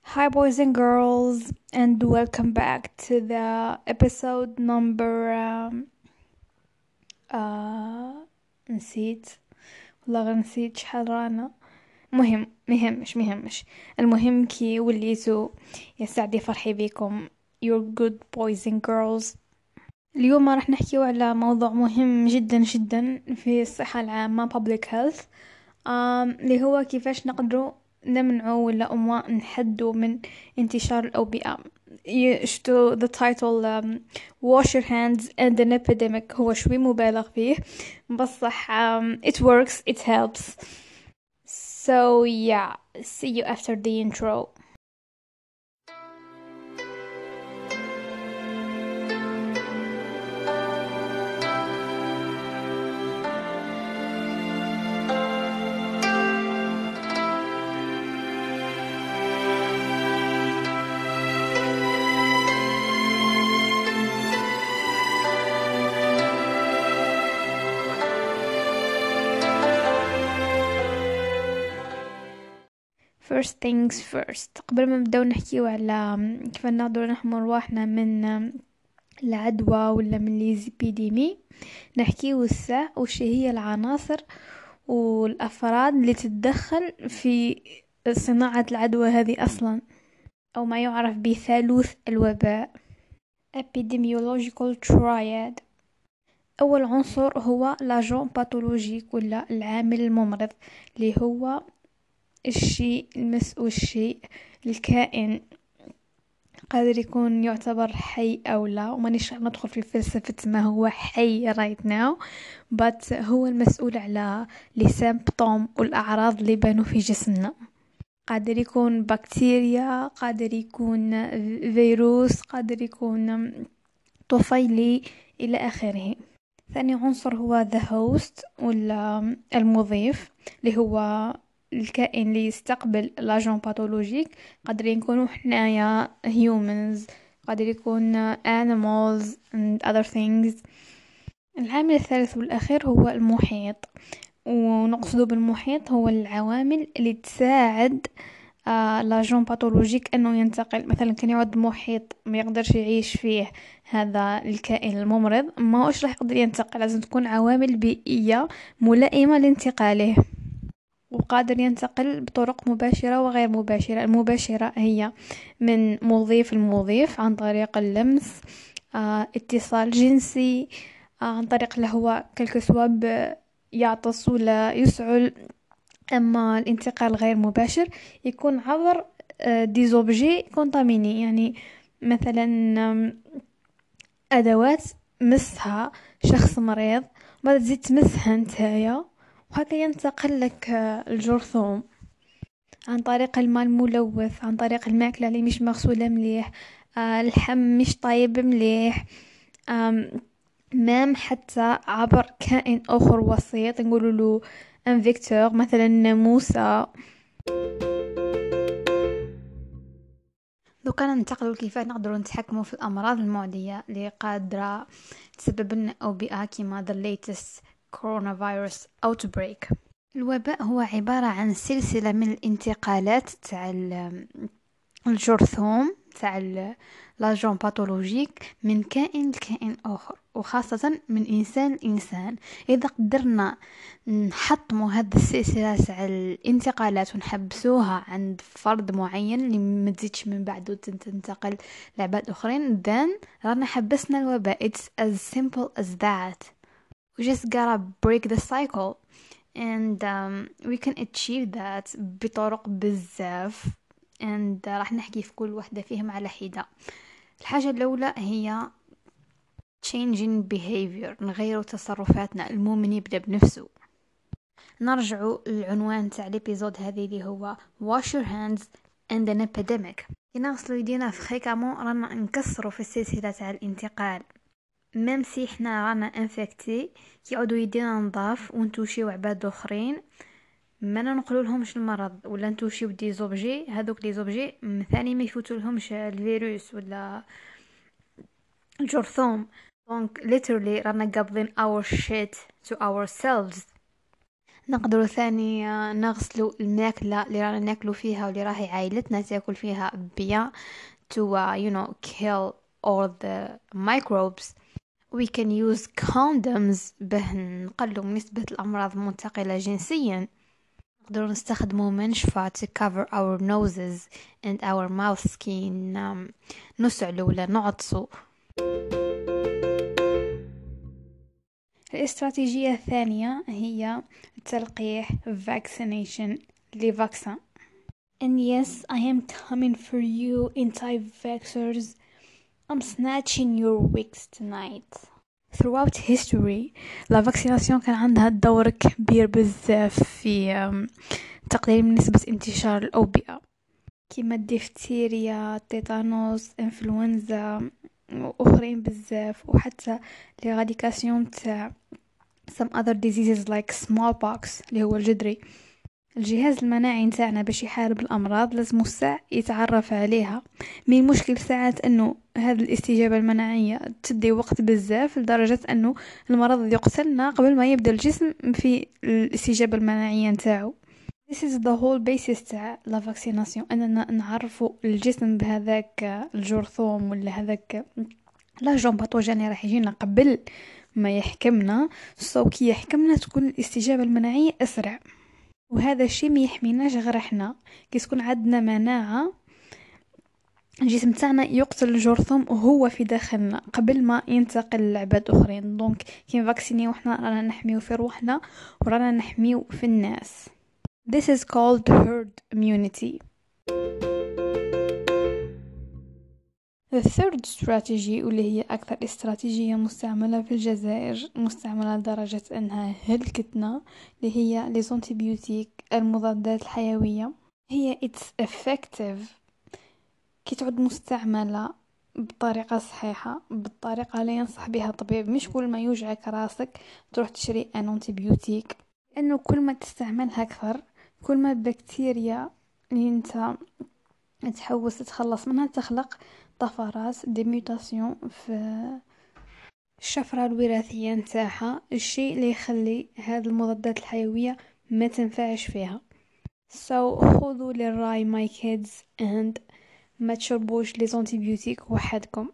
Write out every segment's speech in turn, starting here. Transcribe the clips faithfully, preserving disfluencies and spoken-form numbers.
Hi, boys and girls, and welcome back to the episode number. Um, uh, نسيت والله غير نسيت شحال رانا. مهم مهمش مهمش المهم كي وليتو يا سعدي فرحي بكم. You're good boys and girls. اليوم راح نحكيو على موضوع مهم جدا جدا في الصحة العامة public health. آم، اللي هو كيفاش نقدروا نمنعوا ولا أما نحدوا من انتشار الأوبئة. ي- شتو the title um, wash your hands and an epidemic هو شوي مبالغ فيه بصح um, it works, it helps. So yeah, see you after the intro. First things first, قبل ما نبداو نحكيو على كيف نقدروا نحموا رواحنا من العدوى ولا من الإبيديمي، نحكيو الساعة وش هي العناصر والأفراد اللي تتدخل في صناعة العدوى هذه أصلا، أو ما يعرف بثالوث الوباء epidemiological triad. أول عنصر هو لاجون باثولوجيك ولا العامل الممرض، اللي هو الشيء المسؤول الشيء الكائن قادر يكون يعتبر حي أو لا، ومانيش ندخل في فلسفة ما هو حي right now but هو المسؤول على لي سيمبتوم والأعراض اللي بانوا في جسمنا. قادر يكون بكتيريا، قادر يكون فيروس، قادر يكون طفيلي إلى آخره. ثاني عنصر هو the host ولا المضيف، اللي هو الكائن اللي يستقبل لاجون باثولوجيك. قادر يكونوا حنايا humans، قادر يكون animals and other things. العامل الثالث والأخير هو المحيط، ونقصد بالمحيط هو العوامل اللي تساعد آه لاجون باثولوجيك انه ينتقل. مثلا كان يعد محيط ما يقدرش يعيش فيه هذا الكائن الممرض، ما هوش راح يقدر ينتقل، لازم تكون عوامل بيئية ملائمة لانتقاله، وقادر ينتقل بطرق مباشرة وغير مباشرة. المباشرة هي من مضيف المضيف عن طريق اللمس، آه اتصال جنسي، آه عن طريق الهواء كالكسواب يعطس ولا يسعل. اما الانتقال غير مباشر يكون عبر ديزوبجي كونتاميني، يعني مثلا آم، ادوات مسها شخص مريض بعد تزيد تمسها نتايا، وهكا ينتقل لك آه، الجرثوم عن طريق الماء الملوث، عن طريق الماكلة اللي مش مغسولة مليح، آه، اللحم مش طايب مليح، آم، مام حتى عبر كائن آخر وسيط نقول له ان فيكتور مثلا ناموسة. لو كان ننتقلوا كيف نقدروا نتحكموا في الأمراض المعدية اللي قادرة تسبب لنا أوبئة كما the latest coronavirus outbreak. الوباء هو عبارة عن سلسلة من الانتقالات تاع الجرثوم تاع لاجون باثولوجيك من كائن لكائن آخر، وخاصة من إنسان لإنسان. إذا قدرنا نحطموا هذه السلسلة تاع الانتقالات ونحبسوها عند فرد معين اللي ما تزيدش من بعده تنتقل لعباد أخرين، then رانا حبسنا الوباء. It's as simple as that. We just gotta break the cycle and um, we can achieve that بطرق بزاف، and uh, راح نحكي في كل واحدة فيهم على حدة. الحاجة الأولى هي changing behavior، نغيروا تصرفاتنا. المؤمن يبدأ بنفسه. نرجعوا للعنوان تاع الابيزود هذه اللي هو wash your hands and an epidemic. كي نغسلوا يدينا فريكامون رانا نكسروا في السلسلة تاع الانتقال. ميم سي حنا رانا انفكتي كي يعودوا يدينا نضاف ونتوشيو عباد اخرين، ما ننقلوا لهمش المرض ولا نتوشيو دي زوبجي، هذوك لي زوبجي ثاني ما يفوتوا لهمش الفيروس ولا الجرثوم. دونك literally رانا قابضين our shit to ourselves. نقدروا ثاني نغسلوا الماكلة اللي رانا ناكلوا فيها واللي راهي عائلتنا تاكل فيها بيان to uh, you know kill all the microbes. We can use condoms به نقلوا من نسبة الأمراض المنتقلة جنسيا. نقدروا نستخدموا منشفة to cover our noses and our mouth skin. um, نسعلوا ولا نعطسوا. الاستراتيجية الثانية هي تلقيح vaccination لفاكسان. And yes, I am coming for you anti-vaxxers. I'm snatching your wigs tonight. Throughout history, la vaccination كان عندها دور كبير بزاف في تقليل من نسبة انتشار الأوبئة كيما الدفتيريا، التيتانوس، انفلونزا وأخرين بزاف، وحتى l'éradication تاع some other diseases like smallpox اللي هو الجدري. الجهاز المناعي نتاعنا باش يحارب الامراض لازم الساع يتعرف عليها. من المشكل ساعات انه هذه الاستجابه المناعيه تدي وقت بزاف لدرجه انه المرض يقتلنا قبل ما يبدا الجسم في الاستجابه المناعيه نتاعو. This is the whole basis تاع لا فاكسيناسيون، اننا نعرفوا الجسم بهذاك الجرثوم ولا هذاك لاجون باثوجين راح يجينا قبل ما يحكمنا، سو كي يحكمنا تكون الاستجابه المناعيه اسرع. وهذا الشيء ما يحميناش غير احنا كي تكون عندنا مناعه الجسم تاعنا يقتل الجرثوم وهو في داخلنا قبل ما ينتقل لعباد اخرين. دونك كي نفاكسينيو احنا رانا نحميو في روحنا ورانا نحميو في الناس. This is called herd immunity. The third strategy واللي هي أكثر استراتيجية مستعملة في الجزائر، مستعملة لدرجة أنها هلكتنا، اللي هي les antibiotiques المضادات الحيوية. هي it's effective كي تعد مستعملة بطريقة صحيحة، بالطريقة اللي ينصح بها الطبيب. مش كل ما يوجعك راسك تروح تشري ان antibiotic، لأنه كل ما تستعملها أكثر كل ما البكتيريا اللي انت تحوس تتخلص منها تخلق طفرات دي ميوتاسيون في الشفرة الوراثية نتاعها، الشيء اللي يخلي هذه المضادات الحيوية ما تنفعش فيها. so خذوا للراي my kids and ما تشربوش لي زونتيبيوتيك وحدكم.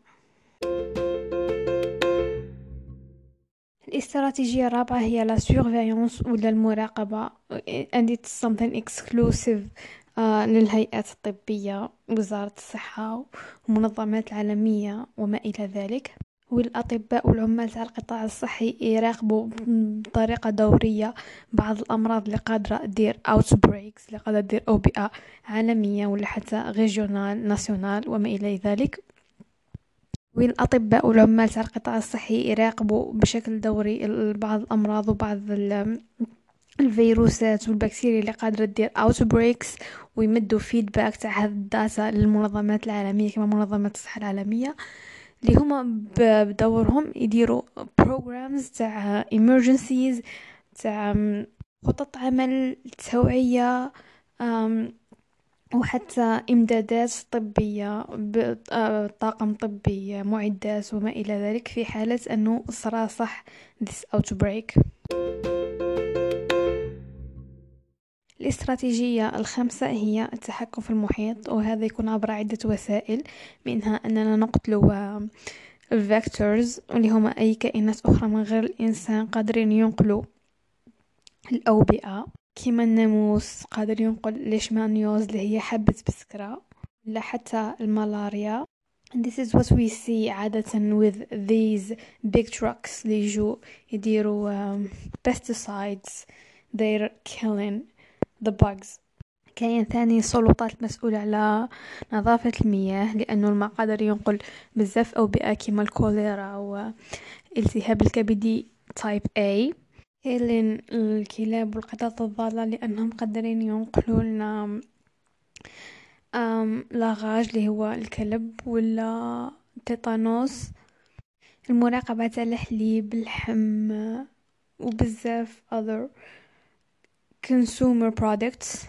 الاستراتيجية الرابعة هي la surveillance ولا المراقبة and it's something exclusive آه للهيئات الطبية، وزارة الصحة والمنظمات العالمية وما إلى ذلك. والأطباء والعمال تاع القطاع الصحي يراقبوا بطريقة دورية بعض الأمراض اللي قادرة دير outbreaks، اللي قادرة دير أوبئة عالمية ولا حتى regional national وما إلى ذلك. والأطباء والعمال تاع القطاع الصحي يراقبوا بشكل دوري بعض الأمراض وبعض الفيروسات والبكتيريا اللي قادرة تدير outbreaks، ويمدوا فيدباك تاع هذه الداتا للمنظمات العالمية كما منظمة الصحة العالمية، اللي هما بدورهم يديروا programs تاع emergencies، تاع خطط عمل توعية وحتى إمدادات طبية بطاقم طبي معدات وما إلى ذلك في حالة أنه صار صح this outbreak. الاستراتيجية الخامسة هي التحكم في المحيط، وهذا يكون عبر عدة وسائل، منها أننا نقتلوا الفيكتورز اللي هما أي كائنات أخرى من غير الإنسان قادرين ينقلوا الأوبئة، كما الناموس قادر ينقل ليشمانيوز اللي هي حبة بسكرة، ولا حتى الملاريا. And this is what we see عادة with these big trucks اللي يجوا يديروا um, pesticides they're killing the bugs. كاين ثاني سلطات مسؤولة على نظافة المياه، لأنه الماء قادر ينقل بزاف أوبئة كما الكوليرا والالتهاب الكبدي type A. كاين الكلاب والقطط الضالة لأنهم قادرين ينقلوا لنا لاغاج اللي هو الكلب ولا تيتانوس. المراقبة تاع الحليب، اللحم وبزاف other consumer products.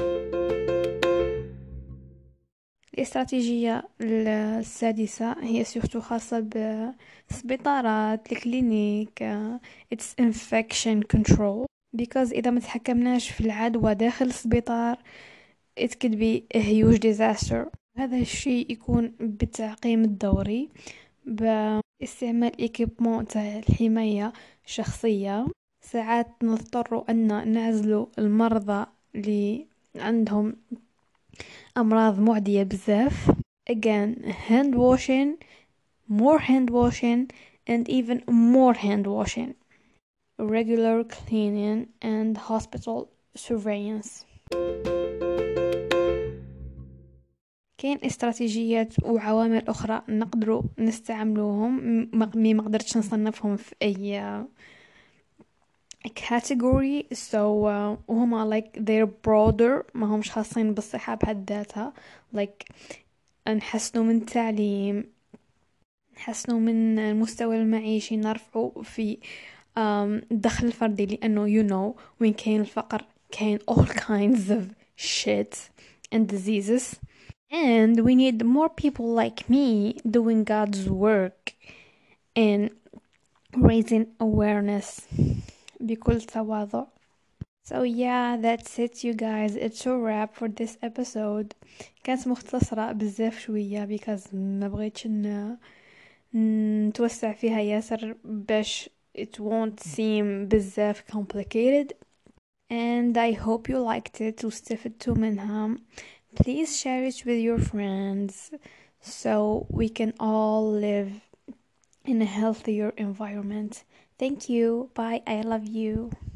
الاستراتيجية السادسة هي سورتو خاصة بالسبيطارات، الكلينيك، it's infection control. because إذا ما تحكمناش في العدوى داخل السبيطار it could be a huge disaster. هذا الشيء يكون بالتعقيم الدوري باستعمال إيكيبمون تاع الحماية الشخصية. ساعات نضطر أن نعزل المرضى اللي عندهم أمراض معدية بزاف. Again, hand washing, more hand washing, and even more hand washing, regular cleaning, and hospital surveillance. كاين استراتيجيات وعوامل أخرى نقدروا نستعملوهم مي ما قدرتش نصنفهم في أي category. so uh, وهما like they're broader ما همش خاصين بالصحة بحد ذاتها. like نحسنوا من التعليم، نحسنوا من المستوى المعيشي، نرفعوا في um, الدخل الفردي، لأنه you know وين كاين الفقر كاين all kinds of shit and diseases. And we need more people like me doing God's work and raising awareness بكل تواضع. So yeah, that's it you guys. It's a wrap for this episode. كانت مختصرة بزاف شوية because ما بغيتش ن... نتوسع فيها ياسر باش it won't seem بزاف complicated. And I hope you liked it واستفدتوا منها. Please share it with your friends so we can all live in a healthier environment. Thank you. Bye. I love you.